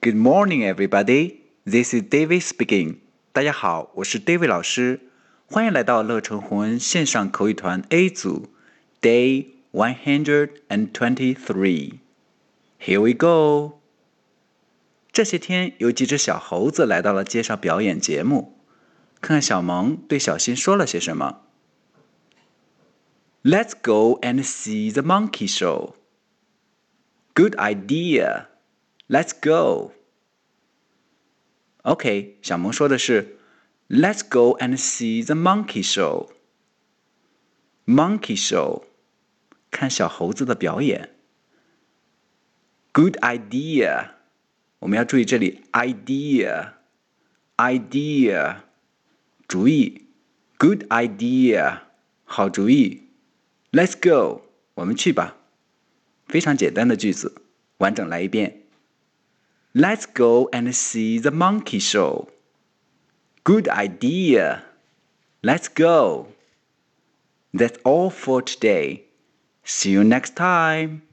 Good morning, everybody. This is David speaking. 大家好，我是 David 老师，欢迎来到乐成宏恩线上口语团 A 组 Day 123. Here we go. 这些天有几只小猴子来到了街上表演节目，看看小萌对小新说了些什么。Let's go and see the monkey show. Good idea. Let's go. OK, 小萌说的是 Let's go and see the monkey show. Monkey show. 看小猴子的表演。Good idea. 我们要注意这里 idea. Idea. 主意 Good idea. 好主意。Let's go. 我们去吧。非常简单的句子，完整来一遍。Let's go and see the monkey show. Good idea. Let's go. That's all for today. See you next time.